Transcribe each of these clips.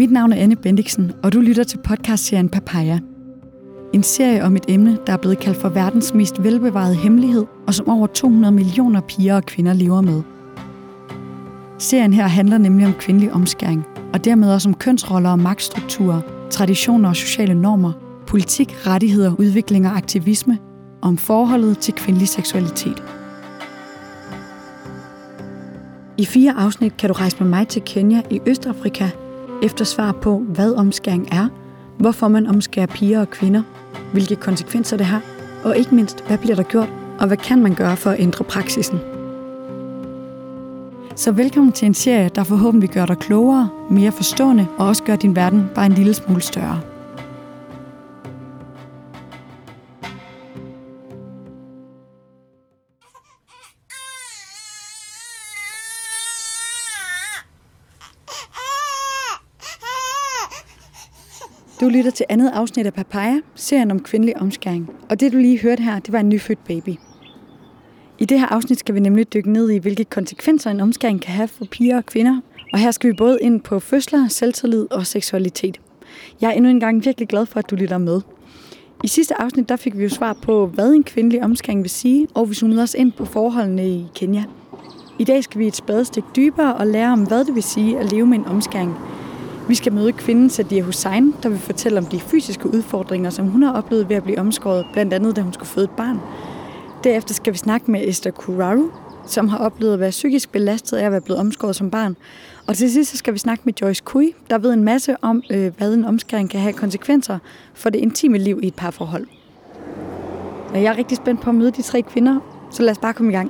Mit navn er Anne Bendiksen, og du lytter til podcastserien Papaya. En serie om et emne, der er blevet kaldt for verdens mest velbevarede hemmelighed, og som over 200 millioner piger og kvinder lever med. Serien her handler nemlig om kvindelig omskæring, og dermed også om kønsroller og magtstrukturer, traditioner og sociale normer, politik, rettigheder, udvikling og aktivisme, og om forholdet til kvindelig seksualitet. I 4 afsnit kan du rejse med mig til Kenya i Østafrika, efter svar på, hvad omskæring er, hvorfor man omskærer piger og kvinder, hvilke konsekvenser det har, og ikke mindst, hvad bliver der gjort, og hvad kan man gøre for at ændre praksisen. Så velkommen til en serie, der forhåbentlig gør dig klogere, mere forstående og også gør din verden bare en lille smule større. Du lytter til andet afsnit af Papaya, serien om kvindelig omskæring. Og det du lige hørte her, det var en nyfødt baby. I det her afsnit skal vi nemlig dykke ned i, hvilke konsekvenser en omskæring kan have for piger og kvinder. Og her skal vi både ind på fødsler, selvtillid og seksualitet. Jeg er endnu en gang virkelig glad for, at du lytter med. I sidste afsnit der fik vi jo svar på, hvad en kvindelig omskæring vil sige, og vi zoomede os ind på forholdene i Kenya. I dag skal vi et spadestik dybere og lære om, hvad det vil sige at leve med en omskæring. Vi skal møde kvinden Sadia Hussain, der vil fortælle om de fysiske udfordringer, som hun har oplevet ved at blive omskåret, blandt andet da hun skulle føde et barn. Derefter skal vi snakke med Esther Kuraru, som har oplevet at være psykisk belastet af at være blevet omskåret som barn. Og til sidst skal vi snakke med Joyce Kui, der ved en masse om, hvad en omskæring kan have konsekvenser for det intime liv i et parforhold. Og jeg er rigtig spændt på at møde de 3 kvinder, så lad os bare komme i gang.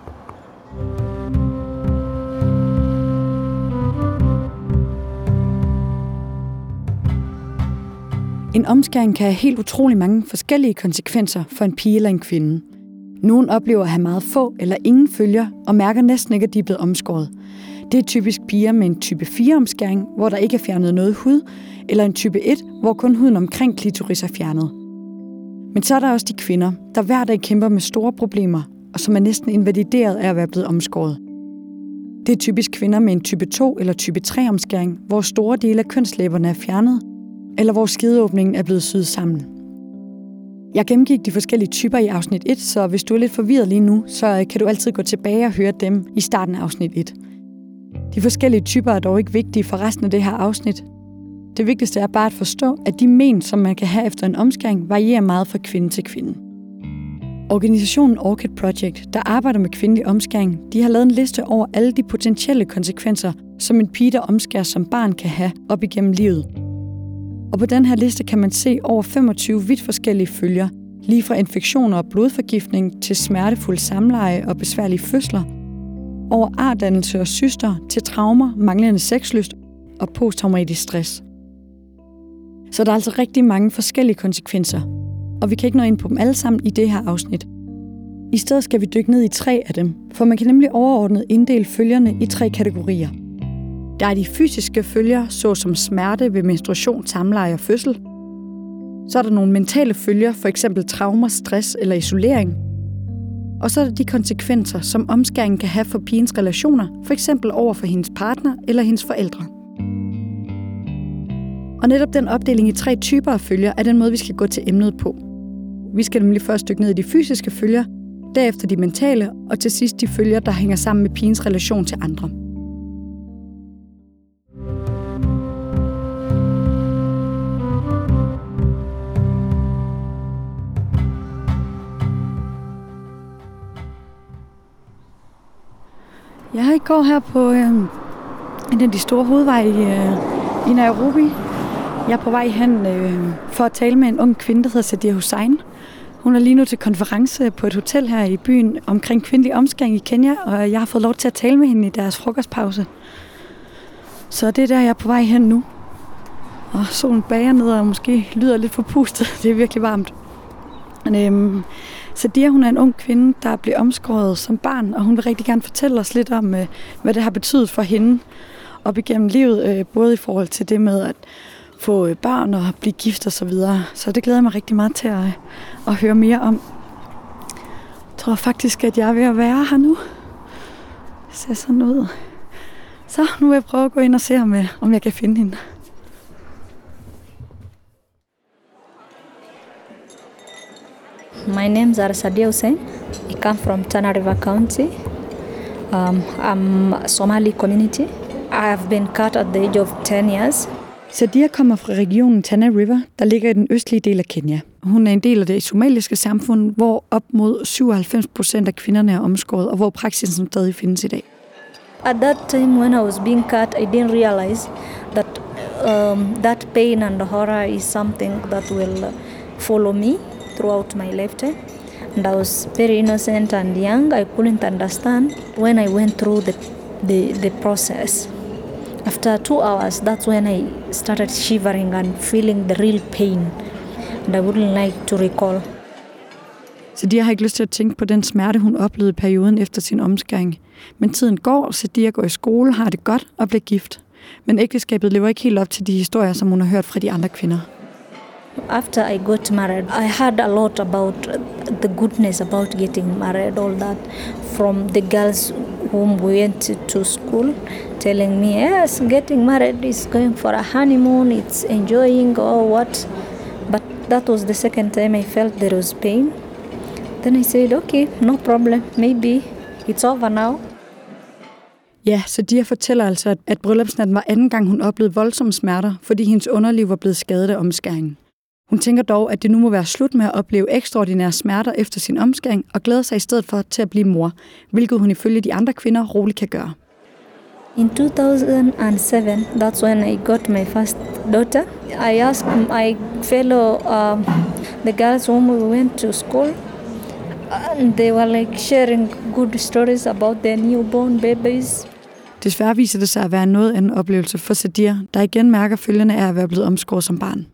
En omskæring kan have helt utrolig mange forskellige konsekvenser for en pige eller en kvinde. Nogle oplever at have meget få eller ingen følger og mærker næsten ikke, at de er blevet omskåret. Det er typisk piger med en type 4-omskæring, hvor der ikke er fjernet noget hud, eller en type 1, hvor kun huden omkring klitoris er fjernet. Men så er der også de kvinder, der hver dag kæmper med store problemer, og som er næsten invalideret af at være blevet omskåret. Det er typisk kvinder med en type 2 eller type 3-omskæring, hvor store dele af kønslæberne er fjernet, eller hvor skideåbningen er blevet syet sammen. Jeg gennemgik de forskellige typer i afsnit 1, så hvis du er lidt forvirret lige nu, så kan du altid gå tilbage og høre dem i starten af afsnit 1. De forskellige typer er dog ikke vigtige for resten af det her afsnit. Det vigtigste er bare at forstå, at de men, som man kan have efter en omskæring, varierer meget fra kvinde til kvinde. Organisationen Orchid Project, der arbejder med kvindelig omskæring, de har lavet en liste over alle de potentielle konsekvenser, som en pige, der omskæres som barn, kan have op igennem livet. Og på den her liste kan man se over 25 vidt forskellige følger, lige fra infektioner og blodforgiftning til smertefuld samleje og besværlige fødsler, over artdannelse og cyster til traumer, manglende sexlyst og posttraumatisk stress. Så der er altså rigtig mange forskellige konsekvenser, og vi kan ikke nå ind på dem alle sammen i det her afsnit. I stedet skal vi dykke ned i 3 af dem, for man kan nemlig overordnet inddele følgerne i 3 kategorier. Der er de fysiske følger, såsom smerte ved menstruation, samleje og fødsel. Så er der nogle mentale følger, f.eks. traumer, stress eller isolering. Og så er der de konsekvenser, som omskæringen kan have for pigens relationer, f.eks. over for hendes partner eller hendes forældre. Og netop den opdeling i 3 typer af følger er den måde, vi skal gå til emnet på. Vi skal nemlig først dykke ned i de fysiske følger, derefter de mentale, og til sidst de følger, der hænger sammen med pigens relation til andre. Jeg går her på en af de store hovedveje i Nairobi. Jeg er på vej hen for at tale med en ung kvinde, der hedder Sadia Hussain. Hun er lige nu til konference på et hotel her i byen omkring kvindelig omskæring i Kenya, og jeg har fået lov til at tale med hende i deres frokostpause. Så det er der, jeg er på vej hen nu. Og solen bager ned og måske lyder lidt forpustet. Det er virkelig varmt. Men, Sadia, hun er en ung kvinde, der blev omskåret som barn, og hun vil rigtig gerne fortælle os lidt om, hvad det har betydet for hende op igennem livet, både i forhold til det med at få børn og blive gift og så videre. Så det glæder jeg mig rigtig meget til at høre mere om. Jeg tror faktisk, at jeg er ved at være her nu. Det ser sådan ud. Så nu vil jeg prøve at gå ind og se, om jeg kan finde hende. My names are Sadia Hussein. I come from Tana River County. I'm a Somali community. I have been cut at the age of 10 years. Sadia kommer fra regionen Tana River, der ligger i den østlige del af Kenya. Hun er en del af det somaliske samfund, hvor op mod 97% af kvinderne er omskåret, og hvor praksisen stadig findes i dag. At that time when I was being cut, I didn't realize that that pain and horror is something that will follow me throughout my lifetime. And I was very innocent and young. I couldn't understand when I went through the process. After 2 hours, that's when I started shivering and feeling the real pain. And I wouldn't like to recall. Sadia har ikke lyst til at tænke på den smerte, hun oplevede i perioden efter sin omskæring. Men tiden går, Sadia går i skole, har det godt og bliver gift. Men ægteskabet lever ikke helt op til de historier, som hun har hørt fra de andre kvinder. After I got married, I heard a lot about the goodness about getting married, all that, from the girls whom we went to school, telling me, yes, getting married is going for a honeymoon, it's enjoying or what. But that was the second time I felt there was pain. Then I said, okay, no problem, maybe it's over now. Ja, Sadia fortæller altså, at bryllupsnatten var anden gang, hun oplevede voldsomme smerter, fordi hendes underliv var blevet skadet af omskæringen. Hun tænker dog, at det nu må være slut med at opleve ekstraordinære smerter efter sin omskæring, og glæder sig i stedet for til at blive mor, hvilket hun ifølge de andre kvinder roligt kan gøre. In 2007, that's when I got my first daughter. I asked my fellow, the girls whom we went to school, and they were like sharing good stories about their newborn babies. Desværre viser det sig at være en noget anden oplevelse for Sadia, der igen mærker følgerne af at være blevet omskåret som barn.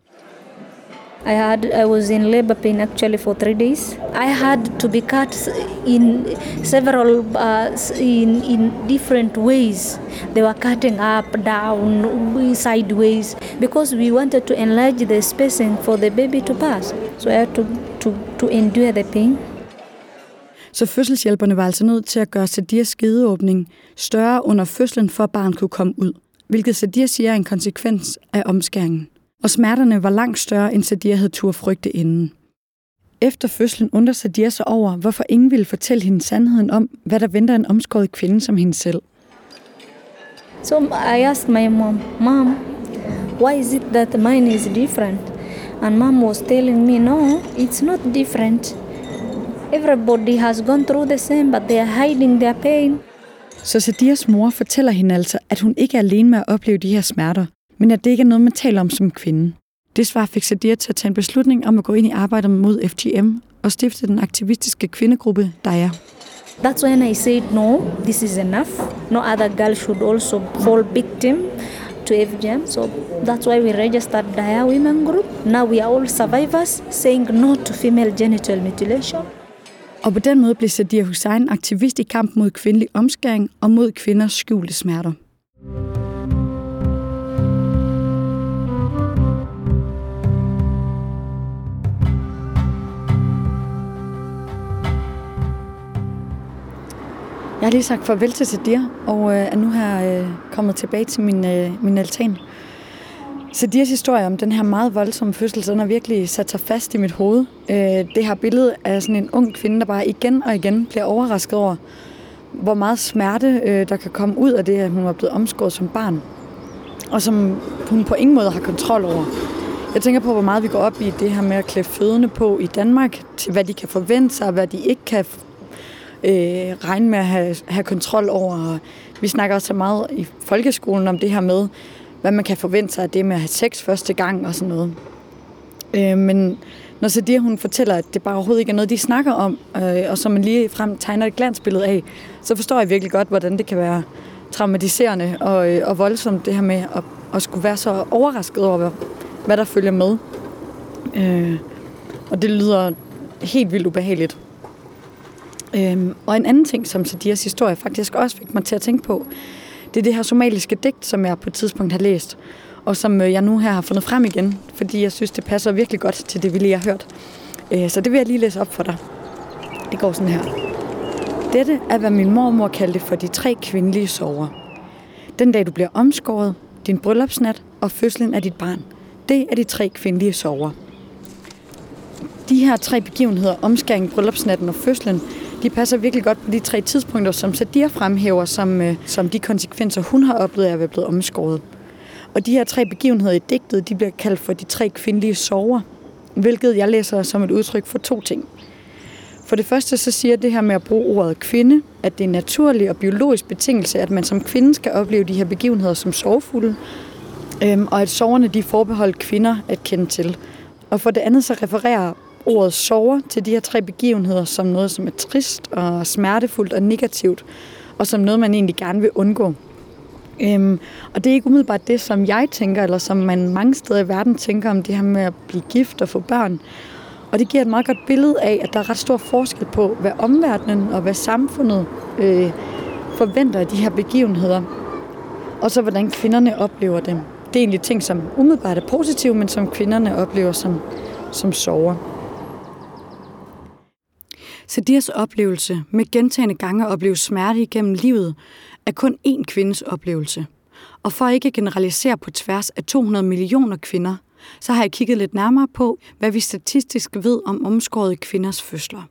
I was in labor pain actually for 3 days. I had to be cut in several in different ways. They were cutting up, down, sideways, because we wanted to enlarge the spacing for the baby to pass. So I had to endure the pain. Så fødselshjælperne var altså nødt til at gøre Sadias skedeåbning større under fødslen, for at barnet kunne komme ud, hvilket Sadia siger er en konsekvens af omskæringen. Og smerterne var langt større, end Sadia havde turde frygte inden. Efter fødslen undrer Sadia sig over, hvorfor ingen ville fortælle hende sandheden om, hvad der venter en omskåret kvinde som hende selv. So I asked my mom, why is it that mine is different? And mom was telling me, no, it's not different. Everybody has gone through the same, but they are hiding their pain. Så Sadias mor fortæller hende altså, at hun ikke er alene med at opleve de her smerter, men at det ikke er noget, man taler om som kvinde. Det svar fik Sadia til at tage en beslutning om at gå ind i arbejdet mod FGM og stifte den aktivistiske kvindegruppe Daya. That's when I said, no, this is enough. No other girl should also fall victim to FGM. So that's why we registered Daya Women Group. Now we are all survivors saying no to female genital mutilation. Og på den måde blev Sadia Hussein aktivist i kamp mod kvindelig omskæring og mod kvinders skjulte smerter. Jeg har lige sagt farvel til Sadia, og er nu her kommet tilbage til min altan. Sadias historie om den her meget voldsomme fødsel, den har virkelig sat sig fast i mit hoved. Det her billede af sådan en ung kvinde, der bare igen og igen bliver overrasket over, hvor meget smerte der kan komme ud af det, at hun var blevet omskåret som barn, og som hun på ingen måde har kontrol over. Jeg tænker på, hvor meget vi går op i det her med at klæde fødende på i Danmark, til hvad de kan forvente sig, og hvad de ikke kan regne med at have kontrol over. Vi snakker også så meget i folkeskolen om det her med, hvad man kan forvente sig af det med at have sex første gang og sådan noget. Men når Sadia hun fortæller, at det bare overhovedet ikke er noget, de snakker om, og så man lige frem tegner et glansbillede af, så forstår jeg virkelig godt, hvordan det kan være traumatiserende og voldsomt, det her med at skulle være så overrasket over, hvad der følger med. Og det lyder helt vildt ubehageligt. Og en anden ting, som Sadias historie faktisk også fik mig til at tænke på, det er det her somaliske digt, som jeg på et tidspunkt har læst, og som jeg nu her har fundet frem igen, fordi jeg synes, det passer virkelig godt til det, vi lige har hørt. Så det vil jeg lige læse op for dig. Det går sådan her. Dette er, hvad min mormor kaldte for de 3 kvindelige sorger. Den dag, du bliver omskåret, din bryllupsnat og fødslen af dit barn. Det er de 3 kvindelige sorger. De her 3 begivenheder, omskæring, bryllupsnatten og fødslen, de passer virkelig godt på de 3 tidspunkter, som Sadia fremhæver som de konsekvenser, hun har oplevet af at være blevet omskåret. Og de her 3 begivenheder i digtet, de bliver kaldt for de 3 kvindelige sorger, hvilket jeg læser som et udtryk for 2 ting. For det første så siger det her med at bruge ordet kvinde, at det er en naturlig og biologisk betingelse, at man som kvinde skal opleve de her begivenheder som sorgfulde, og at sorgerne de er forbeholdt kvinder at kende til. Og for det andet så refererer ordet sorger til de her 3 begivenheder som noget, som er trist og smertefuldt og negativt, og som noget, man egentlig gerne vil undgå. Og det er ikke umiddelbart det, som jeg tænker, eller som man mange steder i verden tænker om det her med at blive gift og få børn. Og det giver et meget godt billede af, at der er ret stor forskel på, hvad omverdenen og hvad samfundet forventer af de her begivenheder, og så hvordan kvinderne oplever dem. Det er egentlig ting, som umiddelbart er positive, men som kvinderne oplever som sorger. Sadias oplevelse med gentagne gange at opleve smerte igennem livet er kun én kvindes oplevelse. Og for ikke at generalisere på tværs af 200 millioner kvinder, så har jeg kigget lidt nærmere på, hvad vi statistisk ved om omskårede kvinders fødsler.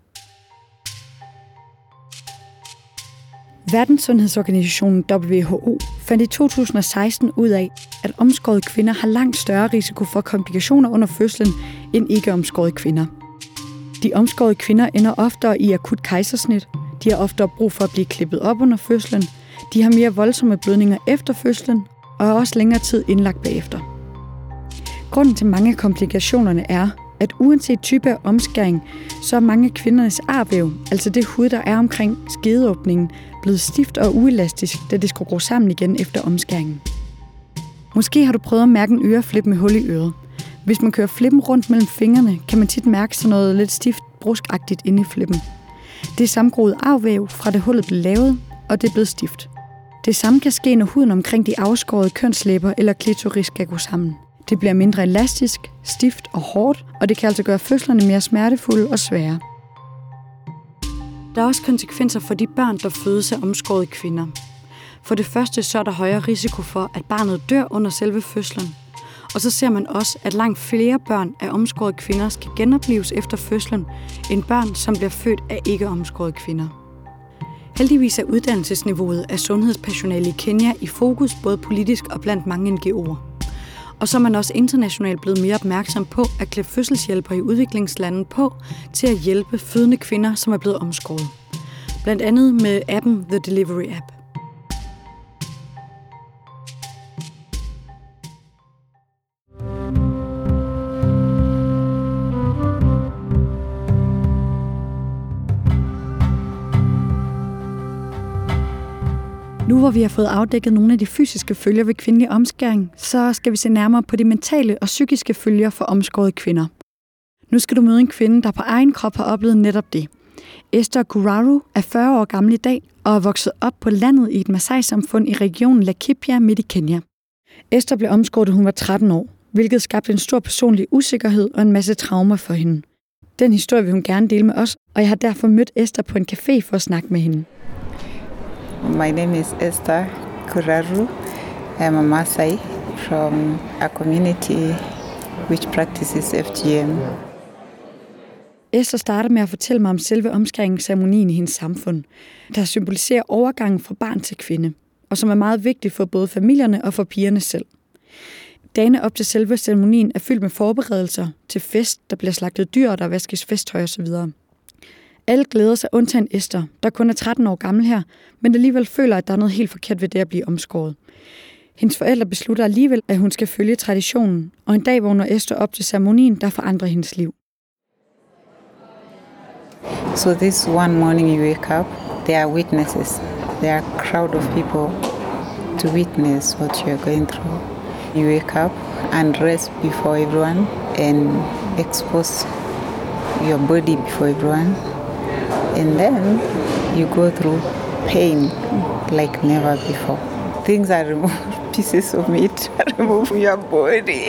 Verdenssundhedsorganisationen WHO fandt i 2016 ud af, at omskårede kvinder har langt større risiko for komplikationer under fødslen end ikke-omskårede kvinder. De omskårede kvinder ender oftere i akut kejsersnit, de har oftere brug for at blive klippet op under fødslen, de har mere voldsomme blødninger efter fødslen og er også længere tid indlagt bagefter. Grunden til mange af komplikationerne er, at uanset type af omskæring, så er mange af kvindernes arvæv, altså det hud, der er omkring skedeåbningen, blevet stift og uelastisk, da det skulle gro sammen igen efter omskæringen. Måske har du prøvet at mærke en øreflip med hul i øret. Hvis man kører flippen rundt mellem fingrene, kan man tit mærke sådan noget lidt stift bruskagtigt inde i flippen. Det er sammengroet arvæv fra det hullet blev lavet, og det er blevet stift. Det samme kan ske, når huden omkring de afskårede kønslæber eller klitoris skal gå sammen. Det bliver mindre elastisk, stift og hårdt, og det kan altså gøre fødslerne mere smertefulde og svære. Der er også konsekvenser for de børn, der fødes af omskårede kvinder. For det første så er der højere risiko for, at barnet dør under selve fødslen. Og så ser man også, at langt flere børn af omskårede kvinder skal genopleves efter fødslen, end børn, som bliver født af ikke-omskårede kvinder. Heldigvis er uddannelsesniveauet af sundhedspersonale i Kenya i fokus både politisk og blandt mange NGO'er. Og så er man også internationalt blevet mere opmærksom på at klæde fødselshjælpere i udviklingslande på til at hjælpe fødende kvinder, som er blevet omskåret. Blandt andet med appen The Delivery App. Nu hvor vi har fået afdækket nogle af de fysiske følger ved kvindelig omskæring, så skal vi se nærmere på de mentale og psykiske følger for omskårede kvinder. Nu skal du møde en kvinde, der på egen krop har oplevet netop det. Esther Kuraru er 40 år gammel i dag og er vokset op på landet i et Masai-samfund i regionen Laikipia midt i Kenya. Esther blev omskåret, da hun var 13 år, hvilket skabte en stor personlig usikkerhed og en masse traumer for hende. Den historie vil hun gerne dele med os, og jeg har derfor mødt Esther på en café for at snakke med hende. My name is Esther Kuraru. I am a Maasai from a community which practices FGM. Esther starter med at fortælle mig om selve omskæringsceremonien i hendes samfund, der symboliserer overgangen fra barn til kvinde, og som er meget vigtig for både familierne og for pigerne selv. Dagene op til selve ceremonien er fyldt med forberedelser til fest, der bliver slagtet dyr, og der vaskes festtøj osv. Alle glæder sig undtagen Esther, der kun er 13 år gammel her, men alligevel føler, at der er noget helt forkert ved det at blive omskåret. Hendes forældre beslutter alligevel, at hun skal følge traditionen, og en dag vågner Esther op til ceremonien, der forandrer hendes liv. So this one morning you wake up, there are witnesses. There are a crowd of people to witness what you are going through. You wake up and rest before everyone and expose your body before everyone. And then you go through pain like never before. Things are removed, pieces of meat are removed from your body.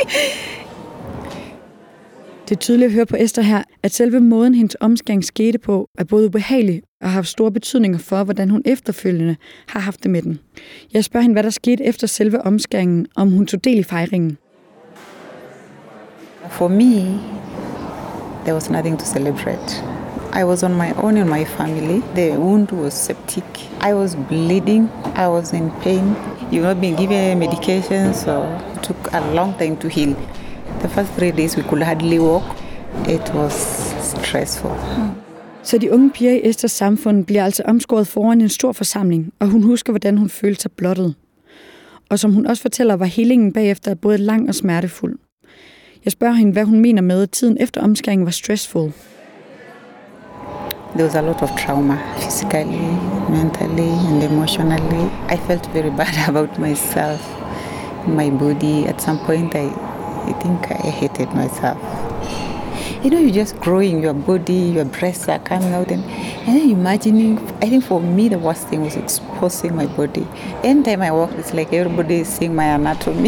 Det er tydeligt at høre på Esther her, at selve måden, hendes omskæring skete på, er både ubehagelig og har haft store betydninger for, hvordan hun efterfølgende har haft det med den. Jeg spørger hende, hvad der skete efter selve omskæringen, om hun tog del i fejringen. For me, There was nothing to celebrate. I was on my own in my family. The wound was septic. I was bleeding. I was in pain. You've not been given medication, so it took a long time to heal. The first 3 days we could hardly walk. It was stressful. Så de unge piger i Esthers samfund bliver altså omskåret foran en stor forsamling, og hun husker, hvordan hun følte sig blottet. Og som hun også fortæller, var healingen bagefter både lang og smertefuld. Jeg spørger hende, hvad hun mener med, at tiden efter omskæringen var stressful. There was a lot of trauma, physically, mentally, and emotionally. I felt very bad about myself, my body. At some point, I think I hated myself. You know, you're just growing, your body, your breasts are coming out, and then imagining, I think for me, the worst thing was exposing my body. Anytime I walk, it's like everybody is seeing my anatomy.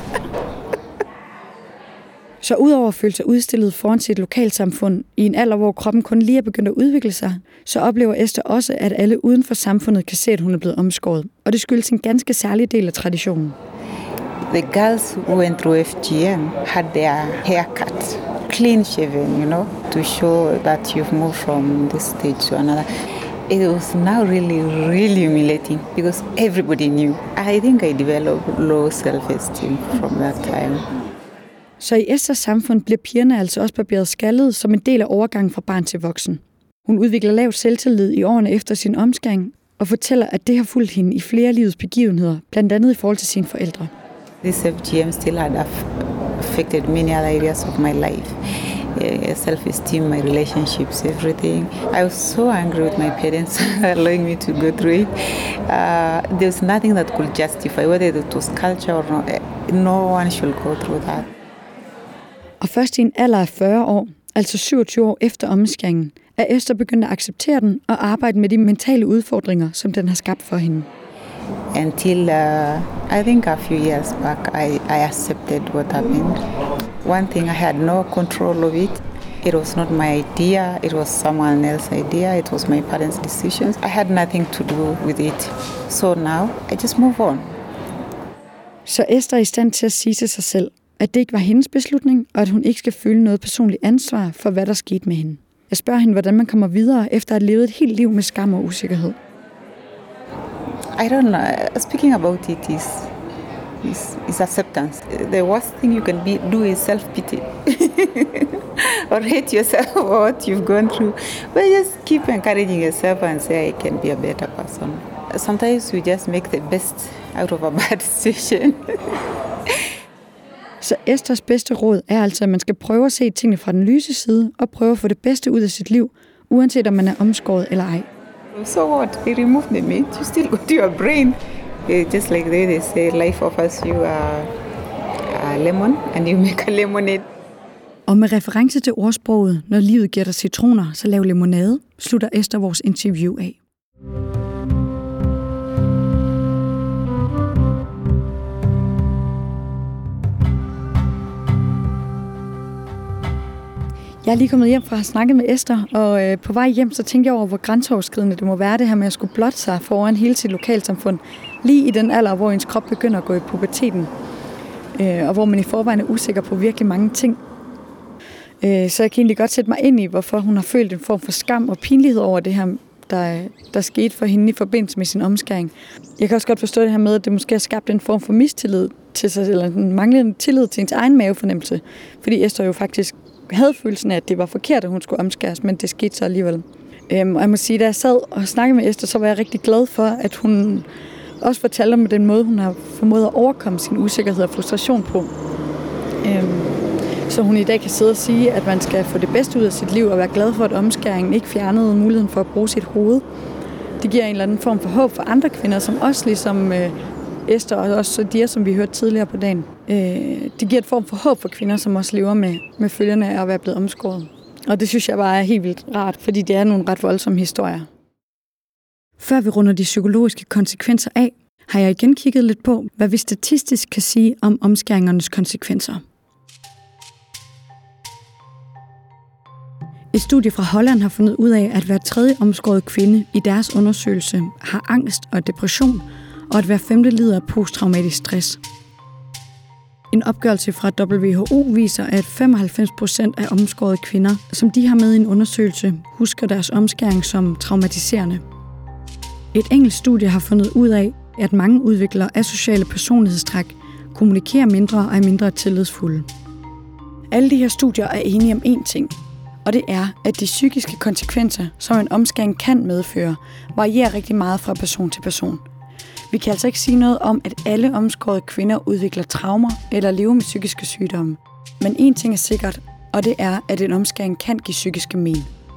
Så udover at føle sig udstillet foran sit lokalsamfund i en alder, hvor kroppen kun lige er begyndt at udvikle sig, så oplever Esther også, at alle uden for samfundet kan se, at hun er blevet omskåret. Og det skyldes en ganske særlig del af traditionen. The girls who went through FGM had their hair cut, clean shaven, you know, to show that you've moved from this stage to another. It was now really, really humiliating because everybody knew. I think I developed low self-esteem from that time. Så i Esthers samfund bliver pigerne altså også barberet skaldet som en del af overgangen fra barn til voksen. Hun udvikler lav selvtillid i årene efter sin omskæring og fortæller, at det har fulgt hende i flere livets begivenheder, blandt andet i forhold til sine forældre. This FGM still had affected many other areas of my life. Self-esteem, my relationships, everything. I was so angry with my parents allowing me to go through it. There was nothing that could justify whether it was culture or not. No one should go through that. Og først i en alder af 40 år, altså 27 år efter omskæringen, er Esther begyndt at acceptere den og arbejde med de mentale udfordringer, som den har skabt for hende. Until I think a few years back, I accepted what happened. One thing, I had no control of it. It was not my idea. It was someone else's idea. It was my parents' decisions. I had nothing to do with it. So now, I just move on. Så Esther er i stand til at sige til sig selv, at det ikke var hendes beslutning, og at hun ikke skal føle noget personligt ansvar for, hvad der skete med hende. Jeg spørger hende, hvordan man kommer videre efter at have levet et helt liv med skam og usikkerhed. I don't know. Speaking about it is acceptance. The worst thing you can do is self-pity. Or hate yourself for what you've gone through. But just keep encouraging yourself and say, I can be a better person. Sometimes we just make the best out of a bad situation. Så Esthers bedste råd er altså, at man skal prøve at se tingene fra den lyse side, og prøve at få det bedste ud af sit liv, uanset om man er omskåret eller ej. So what? They removed the meat. You still go to your brain. Just like they say, life offers you a lemon, and you make a lemonade. Og med reference til ordsproget, når livet giver dig citroner, så lav limonade, slutter Esther vores interview af. Jeg er lige kommet hjem fra at have snakket med Esther, og på vej hjem, så tænkte jeg over, hvor grænseoverskridende det må være det her med at skulle blotte sig foran hele sit lokalsamfund, lige i den alder, hvor ens krop begynder at gå i puberteten, og hvor man i forvejen er usikker på virkelig mange ting. Så jeg kan egentlig godt sætte mig ind i, hvorfor hun har følt en form for skam og pinlighed over det her, der skete for hende i forbindelse med sin omskæring. Jeg kan også godt forstå det her med, at det måske har skabt en form for mistillid til sig, eller en manglende tillid til ens egen mavefornemmelse, fordi Esther jo faktisk havde følelsen af, at det var forkert, at hun skulle omskæres, men det skete så alligevel. Og jeg må sige, da jeg sad og snakkede med Esther, så var jeg rigtig glad for, at hun også fortalte om den måde, hun har formået at overkomme sin usikkerhed og frustration på. Så hun i dag kan sidde og sige, at man skal få det bedste ud af sit liv og være glad for, at omskæringen ikke fjernede muligheden for at bruge sit hoved. Det giver en eller anden form for håb for andre kvinder, som også ligesom Esther og også de, som vi hørte tidligere på dagen. Det giver et form for håb for kvinder, som også lever med følgerne af at være blevet omskåret. Og det synes jeg bare er helt vildt rart, fordi det er nogle ret voldsomme historier. Før vi runder de psykologiske konsekvenser af, har jeg igen kigget lidt på, hvad vi statistisk kan sige om omskæringernes konsekvenser. Et studie fra Holland har fundet ud af, at hver tredje omskåret kvinde i deres undersøgelse har angst og depression, og at hver femte lider af posttraumatisk stress. En opgørelse fra WHO viser, at 95% af omskårede kvinder, som de har med i en undersøgelse, husker deres omskæring som traumatiserende. Et engelsk studie har fundet ud af, at mange udvikler asociale personlighedstræk, kommunikerer mindre og er mindre tillidsfulde. Alle de her studier er enige om én ting, og det er, at de psykiske konsekvenser, som en omskæring kan medføre, varierer rigtig meget fra person til person. Vi kan altså ikke sige noget om, at alle omskårede kvinder udvikler traumer eller lever med psykiske sygdomme. Men én ting er sikkert, og det er, at en omskæring kan give psykiske men.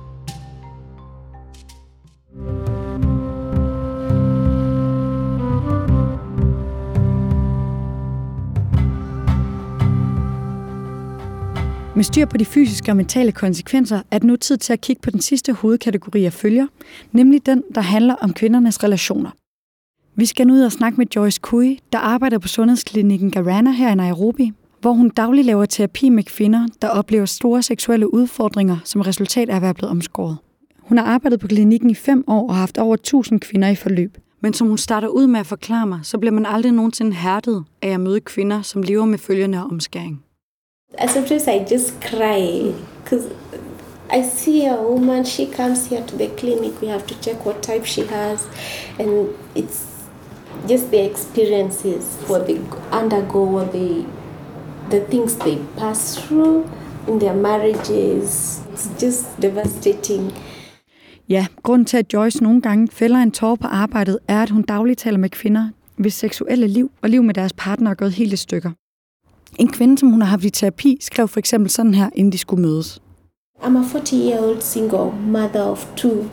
Med styr på de fysiske og mentale konsekvenser er det nu tid til at kigge på den sidste hovedkategori af følger, nemlig den, der handler om kvindernes relationer. Vi skal nu ud og snakke med Joyce Kui, der arbejder på sundhedsklinikken Garana her i Nairobi, hvor hun dagligt laver terapi med kvinder, der oplever store seksuelle udfordringer som resultat af at være blevet omskåret. Hun har arbejdet på klinikken i 5 år og har haft over 1000 kvinder i forløb. Men som hun starter ud med at forklare mig, så bliver man aldrig nogensinde hærdet af at møde kvinder, som lever med følgerne af omskæring. Sometimes I just cry because I see a woman, she comes here to the clinic, we have to check what type she has, and it's just the experiences, what they undergo, what the things they pass through in their marriages. It's just devastating. Ja, grunden til, at Joyce nogle gange fælder en tåre på arbejdet, er, at hun dagligt taler med kvinder, hvis seksuelle liv og liv med deres partner er gået helt i stykker. En kvinde, som hun har haft i terapi, skrev for eksempel sådan her, inden de skulle mødes. I'm a 40-year-old single mother of 2.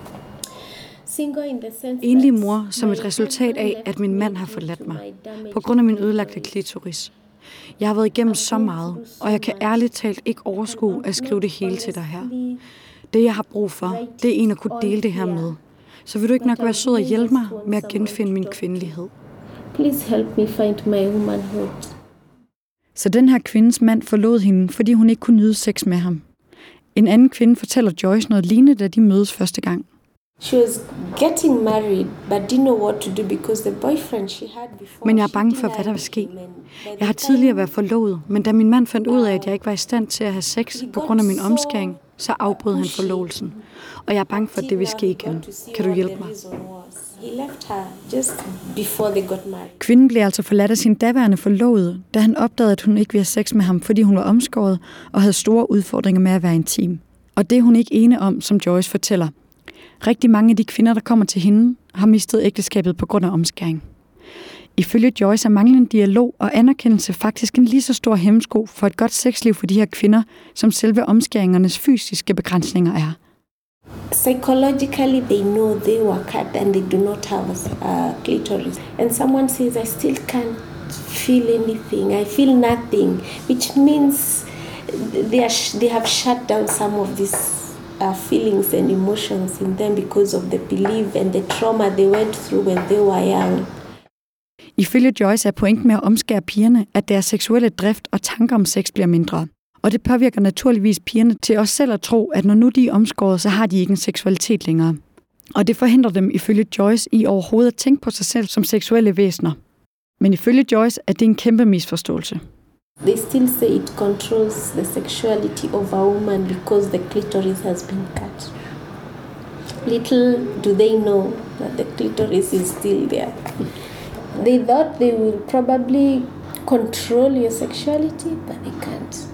Enlig mor som et resultat af, at min mand har forladt mig, på grund af min ødelagte klitoris. Jeg har været igennem så meget, og jeg kan ærligt talt ikke overskue at skrive det hele til dig her. Det, jeg har brug for, det er en at kunne dele det her med. Så vil du ikke nok være sød og hjælpe mig med at genfinde min kvindelighed? Please help me find my womanhood. Så den her kvindes mand forlod hende, fordi hun ikke kunne nyde sex med ham. En anden kvinde fortæller Joyce noget lignende, da de mødes første gang. She was getting married, but didn't know what to do because the boyfriend she had before. Men jeg er bange for, hvad der vil ske. Jeg har tidligere været forlovet, men da min mand fandt ud af, at jeg ikke var i stand til at have sex på grund af min omskæring, så afbrød han forlovelsen. Og jeg er bange for, at det vil ske igen. Kan du hjælpe mig? Kvinden blev altså forladt af sin daværende forlovede, da han opdagede, at hun ikke ville have sex med ham, fordi hun var omskåret og havde store udfordringer med at være intim. Og det er hun ikke ene om, som Joyce fortæller. Rigtig mange af de kvinder, der kommer til hende, har mistet ægteskabet på grund af omskæring. Ifølge Joyce er manglende dialog og anerkendelse faktisk en lige så stor hæmsko for et godt sexliv for de her kvinder, som selve omskæringernes fysiske begrænsninger er. Psychologically, they know they were cut and they do not have a clitoris. And someone says, I still can't feel anything. I feel nothing, which means they have shut down some of these feelings and emotions in them because of the belief and the trauma they went through when they were young. Ifølge Joyce er pointen med at omskære pigerne, at deres seksuelle drift og tanker om sex bliver mindre. Og det påvirker naturligvis pigerne til også selv at tro, at når nu de er omskåret, så har de ikke en seksualitet længere. Og det forhindrer dem ifølge Joyce i overhovedet at tænke på sig selv som seksuelle væsener. Men ifølge Joyce er det en kæmpe misforståelse. They still say it controls the sexuality of a woman because the clitoris has been cut. Little do they know that the clitoris is still there. They thought they will probably control your sexuality, but they can't.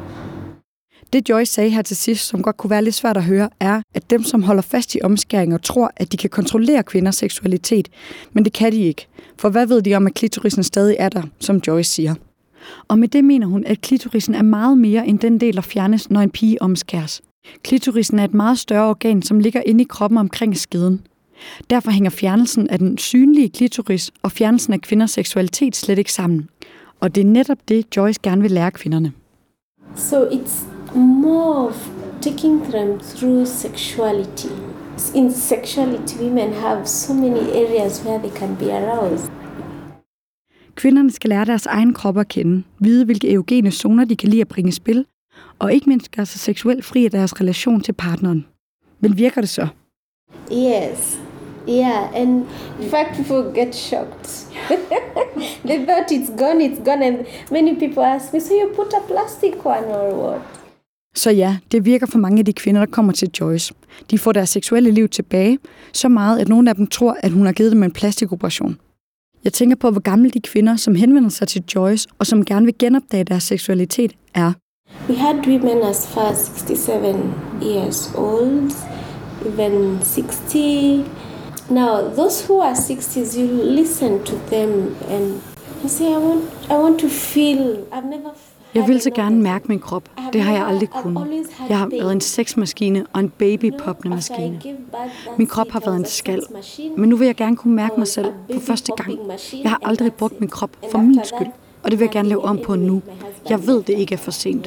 Det Joyce sagde her til sidst, som godt kunne være lidt svært at høre, er, at dem, som holder fast i omskæringer, tror, at de kan kontrollere kvinders seksualitet. Men det kan de ikke. For hvad ved de om, at klitorisen stadig er der, som Joyce siger? Og med det mener hun, at klitorisen er meget mere end den del, der fjernes, når en pige omskæres. Klitorisen er et meget større organ, som ligger inde i kroppen omkring skeden. Derfor hænger fjernelsen af den synlige klitoris og fjernelsen af kvinders seksualitet slet ikke sammen. Og det er netop det, Joyce gerne vil lære kvinderne. So it's more of taking them through sexuality. In sexuality, women have so many areas where they can be aroused. Kvinderne skal lære deres egen krop at kende, vide hvilke erogene zoner de kan lide at bringe i spil, og ikke mindst gøre sig seksuelt fri af deres relation til partneren. Men virker det så? Yes. Yeah, and in fact people get shocked. They thought it's gone. And many people ask me, so you put a plastic one or what? Så ja, det virker for mange af de kvinder, der kommer til Joyce. De får deres seksuelle liv tilbage, så meget, at nogle af dem tror, at hun har givet dem en plastikoperation. Jeg tænker på, hvor gamle de kvinder, som henvender sig til Joyce, og som gerne vil genopdage deres seksualitet, er. We had women as far as 67 years old, even 60. Now, those who are 60s, you listen to them and you say, I want to feel. I've never. Jeg vil så gerne mærke min krop. Det har jeg aldrig kunnet. Jeg har været en sexmaskine og en babypoppende-maskine. Min krop har været en skal. Men nu vil jeg gerne kunne mærke mig selv for første gang. Jeg har aldrig brugt min krop for min skyld. Og det vil jeg gerne lave om på nu. Jeg ved, det ikke er for sent.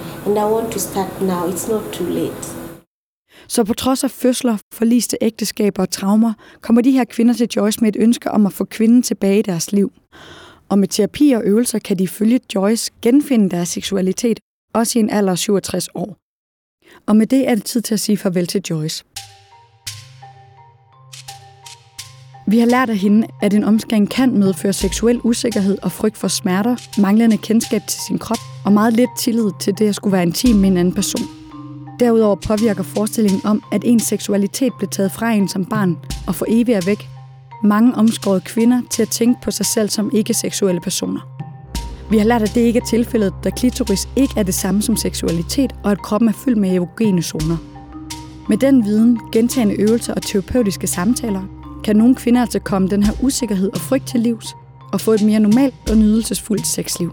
Så på trods af fødsler, forliste ægteskaber og traumer, kommer de her kvinder til Joyce med et ønske om at få kvinden tilbage i deres liv. Og med terapi og øvelser kan de følge Joyce genfinde deres seksualitet, også i en alder af 67 år. Og med det er det tid til at sige farvel til Joyce. Vi har lært af hende, at en omskæring kan medføre seksuel usikkerhed og frygt for smerter, manglende kendskab til sin krop og meget lidt tillid til det at skulle være intim med en anden person. Derudover påvirker forestillingen om, at ens seksualitet blev taget fra en som barn og for evigt er væk, mange omskårede kvinder til at tænke på sig selv som ikke-seksuelle personer. Vi har lært, at det ikke er tilfældet, da klitoris ikke er det samme som seksualitet, og at kroppen er fyldt med erogene zoner. Med den viden, gentagne øvelser og terapeutiske samtaler, kan nogle kvinder altså komme den her usikkerhed og frygt til livs, og få et mere normalt og nydelsesfuldt sexliv.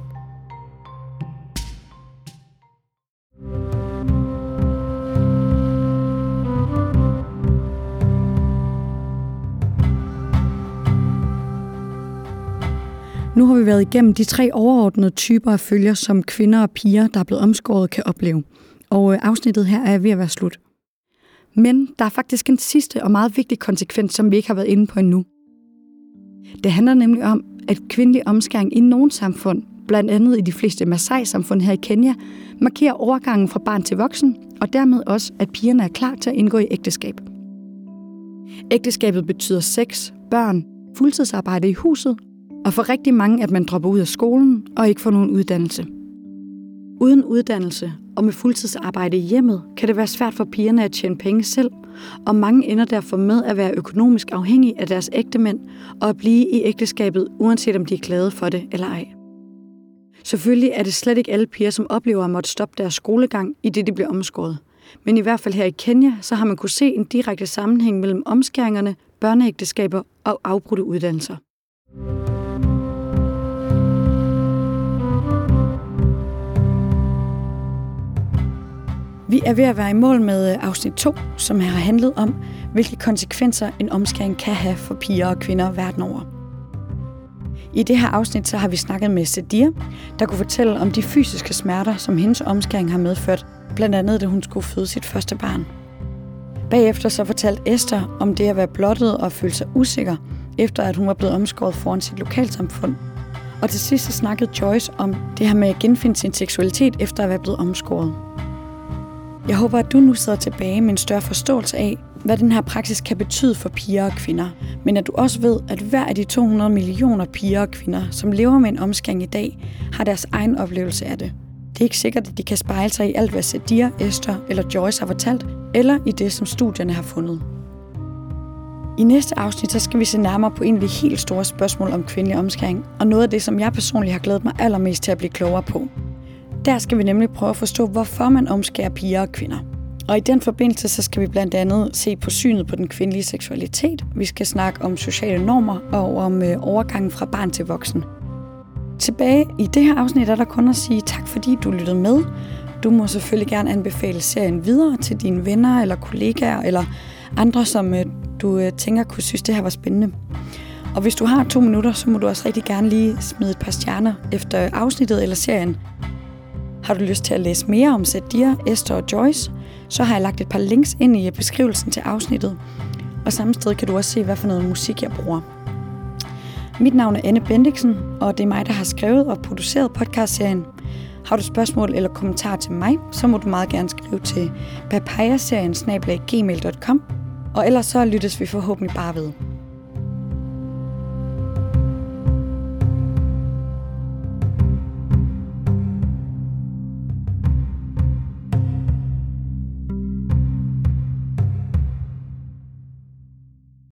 Nu har vi været igennem de 3 overordnede typer af følger, som kvinder og piger, der er blevet omskåret, kan opleve. Og afsnittet her er ved at være slut. Men der er faktisk en sidste og meget vigtig konsekvens, som vi ikke har været inde på endnu. Det handler nemlig om, at kvindelig omskæring i nogle samfund, blandt andet i de fleste Maasai-samfund her i Kenya, markerer overgangen fra barn til voksen, og dermed også, at pigerne er klar til at indgå i ægteskab. Ægteskabet betyder sex, børn, fuldtidsarbejde i huset, og for rigtig mange, at man dropper ud af skolen og ikke får nogen uddannelse. Uden uddannelse og med fuldtidsarbejde i hjemmet, kan det være svært for pigerne at tjene penge selv, og mange ender derfor med at være økonomisk afhængige af deres ægtemænd og at blive i ægteskabet, uanset om de er glade for det eller ej. Selvfølgelig er det slet ikke alle piger, som oplever at måtte stoppe deres skolegang, i det de bliver omskåret. Men i hvert fald her i Kenya, så har man kunne se en direkte sammenhæng mellem omskæringerne, børneægteskaber og afbrudte uddannelser. Vi er ved at være i mål med afsnit 2, som har handlet om, hvilke konsekvenser en omskæring kan have for piger og kvinder verden over. I det her afsnit så har vi snakket med Sadia, der kunne fortælle om de fysiske smerter, som hendes omskæring har medført, blandt andet da hun skulle føde sit første barn. Bagefter så fortalte Esther om det at være blottet og føle sig usikker, efter at hun var blevet omskåret foran sit lokalsamfund. Og til sidst så snakkede Joyce om det her med at genfinde sin seksualitet efter at være blevet omskåret. Jeg håber, at du nu sidder tilbage med en større forståelse af, hvad den her praksis kan betyde for piger og kvinder. Men at du også ved, at hver af de 200 millioner piger og kvinder, som lever med en omskæring i dag, har deres egen oplevelse af det. Det er ikke sikkert, at de kan spejle sig i alt, hvad Sadia, Esther eller Joyce har fortalt, eller i det, som studierne har fundet. I næste afsnit så skal vi se nærmere på en af de helt store spørgsmål om kvindelig omskæring, og noget af det, som jeg personligt har glædet mig allermest til at blive klogere på. Der skal vi nemlig prøve at forstå, hvorfor man omskærer piger og kvinder. Og i den forbindelse så skal vi blandt andet se på synet på den kvindelige seksualitet. Vi skal snakke om sociale normer og om overgangen fra barn til voksen. Tilbage i det her afsnit er der kun at sige tak, fordi du lyttede med. Du må selvfølgelig gerne anbefale serien videre til dine venner eller kollegaer eller andre, som du tænker kunne synes, det her var spændende. Og hvis du har 2 minutter, så må du også rigtig gerne lige smide et par stjerner efter afsnittet eller serien. Har du lyst til at læse mere om Sadia, Esther og Joyce, så har jeg lagt et par links ind i beskrivelsen til afsnittet. Og samme sted kan du også se, hvad for noget musik jeg bruger. Mit navn er Anne Bendiksen, og det er mig, der har skrevet og produceret podcastserien. Har du spørgsmål eller kommentarer til mig, så må du meget gerne skrive til papayaserien@gmail.com. Og ellers så lyttes vi forhåbentlig bare ved.